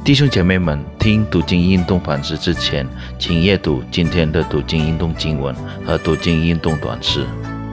弟兄姐妹们，听读经运动反思之前，请阅读今天的读经运动经文和读经运动短诗。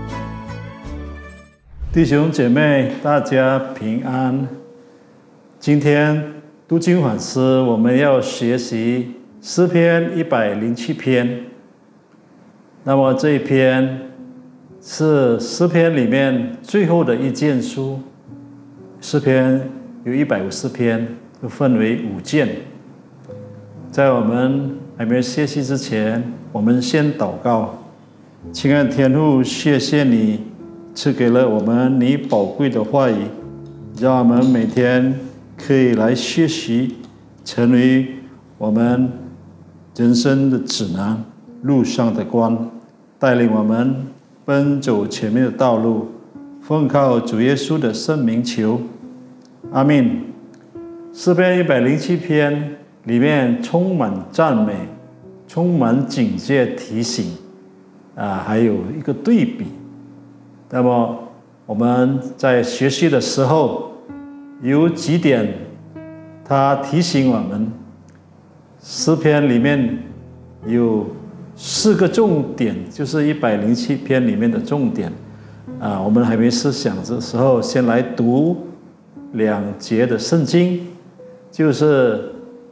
弟兄姐妹，大家平安。今天读经反思，我们要学习诗篇107篇。那么这一篇是诗篇里面最后的一卷书。诗篇有150篇，都分为5卷。在我们还没有学习之前，我们先祷告。亲爱的天父，谢谢你赐给了我们你宝贵的话语，让我们每天可以来学习，成为我们人生的指南，路上的光，带领我们奔走前面的道路。奉靠主耶稣的圣名求，阿们。诗篇107篇里面充满赞美，充满警戒提醒，还有一个对比。那么我们在学习的时候，有几点他提醒我们。诗篇里面有4个重点，就是107篇里面的重点。我们还没思想的时候，先来读2节的圣经，就是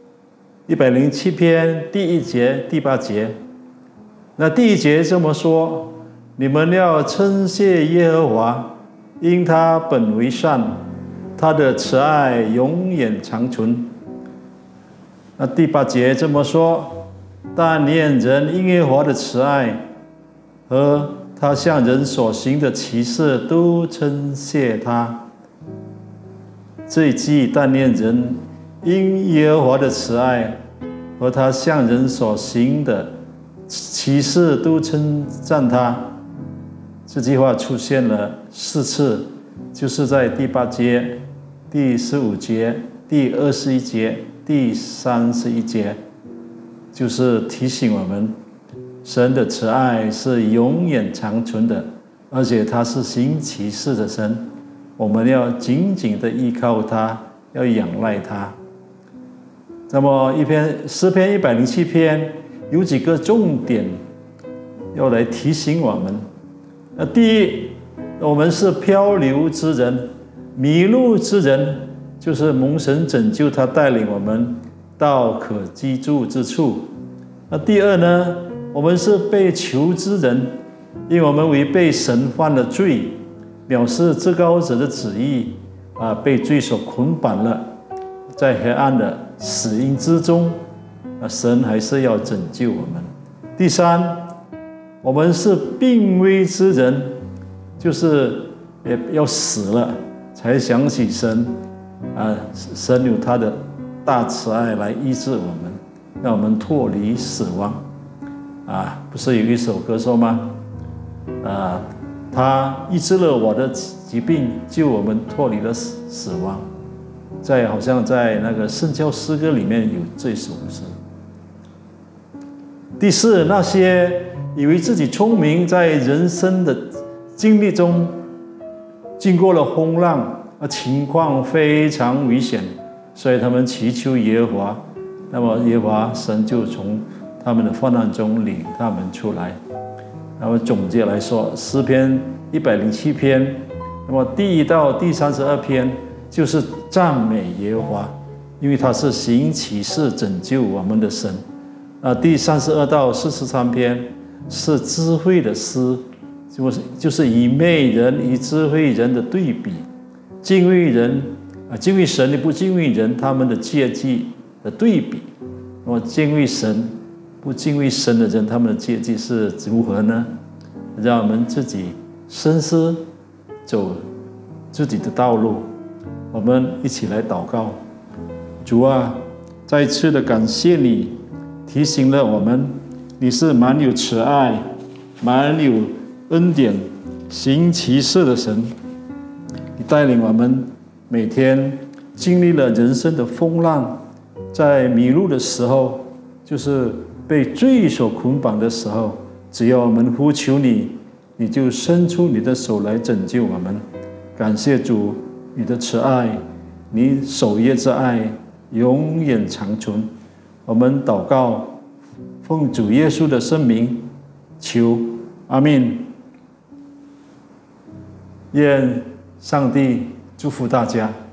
107篇第1节、第8节。那第1节这么说：你们要称谢耶和华，因他本为善，他的慈爱永远长存。那第8节这么说：但愿人因耶和华的慈爱和他向人所行的奇事都称谢他。这一句但愿人因耶和华的慈爱和他向人所行的奇事都称赞他，这句话出现了4次，就是在第8节、第15节、第21节、第31节，就是提醒我们神的慈爱是永远长存的，而且他是行奇事的神，我们要紧紧的依靠他，要仰赖他。那么诗篇107篇有几个重点要来提醒我们。第一，我们是漂流之人，迷路之人，就是蒙神拯救，他带领我们到可居住之处。第二呢，我们是被囚之人，因为我们违背神犯了罪，藐视至高者的旨意，被罪所捆绑了，在黑暗的死荫之中，神还是要拯救我们。第三，我们是病危之人，就是也要死了才想起神，神有他的大慈爱来医治我们，让我们脱离死亡。不是有一首歌说吗？他医治了我的疾病，救我们脱离了死亡。好像在那个圣教诗歌里面有这首诗。第四，那些以为自己聪明，在人生的经历中经过了风浪，情况非常危险，所以他们祈求耶和华，那么耶和华神就从他们的患难中领他们出来。那么总结来说，诗篇107篇，那么第1到第32篇就是赞美耶和华，因为他是行奇事拯救我们的神。第32到43篇是智慧的诗，就是以媚人与智慧人的对比，敬畏人敬畏神的不敬畏人，他们的阶级的对比。那么敬畏神不敬畏神的人，他们的阶级是如何呢？让我们自己深思，走自己的道路。我们一起来祷告。主啊，再一次的感谢你，提醒了我们，你是满有慈爱、满有恩典、行奇事的神。你带领我们每天经历了人生的风浪，在迷路的时候，就是被罪所捆绑的时候，只要我们呼求你，你就伸出你的手来拯救我们。感谢主，你的慈爱，你守约之爱， 永远长存。我们祷告，奉主耶稣的圣名求，阿们。愿上帝祝福大家。